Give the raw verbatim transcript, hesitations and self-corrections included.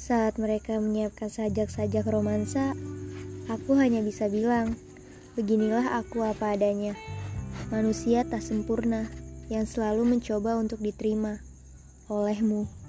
Saat mereka menyiapkan sajak-sajak romansa, aku hanya bisa bilang, beginilah aku apa adanya. Manusia tak sempurna, yang selalu mencoba untuk diterima olehmu.